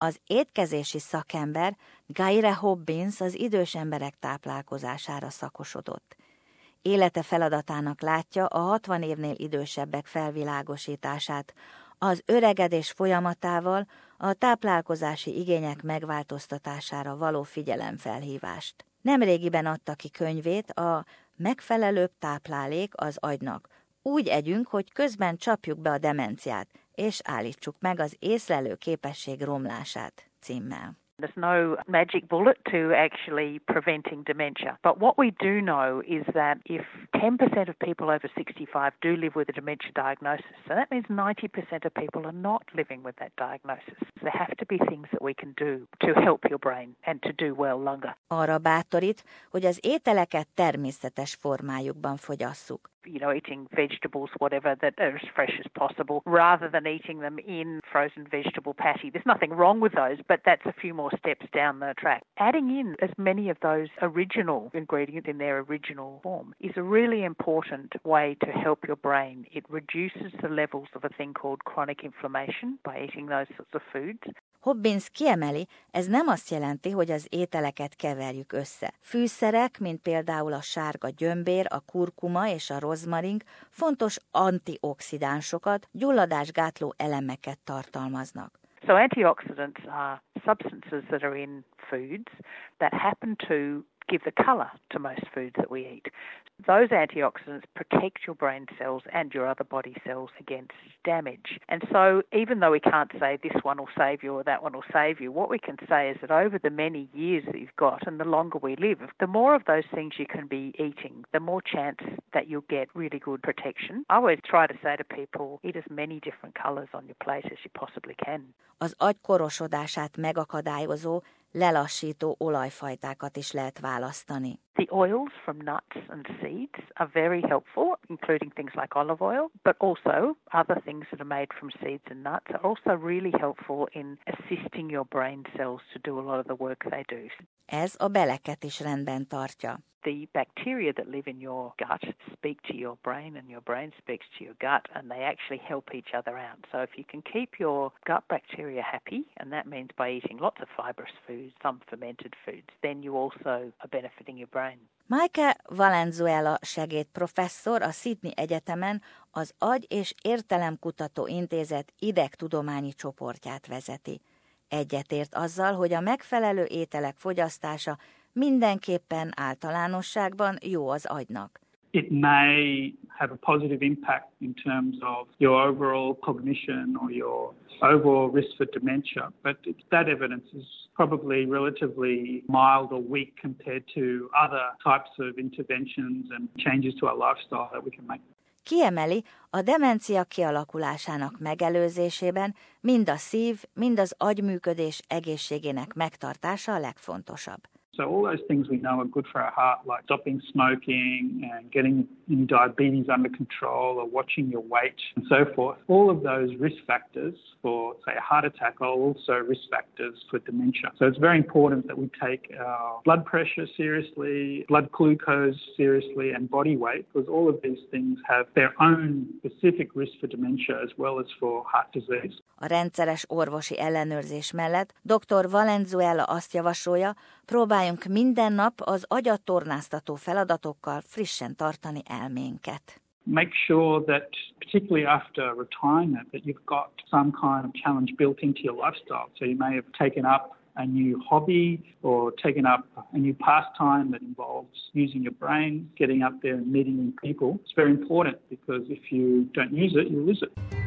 Az étkezési szakember Gayle Hobbins az idős emberek táplálkozására szakosodott. Élete feladatának látja a 60 évnél idősebbek felvilágosítását, az öregedés folyamatával a táplálkozási igények megváltoztatására való figyelemfelhívást. Nemrégiben adta ki könyvét a Megfelelőbb táplálék az agynak. Úgy együnk, hogy közben csapjuk be a demenciát, és állítsuk meg az észlelő képesség romlását címmel. There's no magic bullet to actually preventing dementia. But what we do know is that if 10% of people over 65 do live with a dementia diagnosis, so that means 90% of people are not living with that diagnosis. There have to be things that we can do to help your brain and to do well longer. Arra bátorít, hogy az ételeket természetes formájukban fogyasszuk. Eating vegetables, whatever, that are as fresh as possible, rather than eating them in frozen vegetable patty. There's nothing wrong with those, but that's a few more steps down the track. Adding in as many of those original ingredients in their original form is a really important way to help your brain. It reduces the levels of a thing called chronic inflammation by eating those sorts of foods. Hobbins kiemeli, ez nem azt jelenti, hogy az ételeket keverjük össze. Fűszerek, mint például a sárga gyömbér, a kurkuma és a rozmarink fontos antioxidánsokat, gyulladásgátló elemeket tartalmaznak. So antioxidants are substances that are in foods that happen to give the colour to most foods that we eat. Those antioxidants protect your brain cells and your other body cells against damage. And so even though we can't say this one will save you or that one will save you, what we can say is that over the many years that you've got and the longer we live, the more of those things you can be eating, the more chance that you'll get really good protection. I always try to say to people, eat as many different colours on your plate as you possibly can. Az agy korosodását megakadályozó, lelassító olajfajtákat is lehet választani. The oils from nuts and seeds are very helpful, including things like olive oil, but also other things that are made from seeds and nuts are also really helpful in assisting your brain cells to do a lot of the work they do. Ez a beleket is rendben tartja. The bacteria that live in your gut speak to your brain and your brain speaks to your gut and they actually help each other out. So if you can keep your gut bacteria happy, and that means by eating lots of fibrous foods, some fermented foods, then you also are benefiting your brain. Maike Valenzuela segédprofesszor a Sydney Egyetemen az Agy- és Értelemkutató Intézet idegtudományi csoportját vezeti. Egyetért azzal, hogy a megfelelő ételek fogyasztása mindenképpen általánosságban jó az agynak. It may have a positive impact in terms of your overall cognition or your overall risk for dementia, but that evidence is probably relatively mild or weak compared to other types of interventions and changes to our lifestyle that we can make. Kiemeli, a demencia kialakulásának megelőzésében mind a szív, mind az agyműködés egészségének megtartása a legfontosabb. So all those things we know are good for our heart, like stopping smoking and getting diabetes under control or watching your weight and so forth. All of those risk factors for, say, a heart attack are also risk factors for dementia. So it's very important that we take our blood pressure seriously, blood glucose seriously, and body weight, because all of these things have their own specific risk for dementia as well as for heart disease. A rendszeres orvosi ellenőrzés mellett dr. Valenzuela azt javasolja, próbáljunk minden nap az agyat tornáztató feladatokkal frissen tartani elménket. Make sure that, particularly after retirement, that you've got some kind of challenge built into your lifestyle. So you may have taken up a new hobby or taken up a new pastime that involves using your brain, getting up there and meeting new people. It's very important because if you don't use it, you lose it.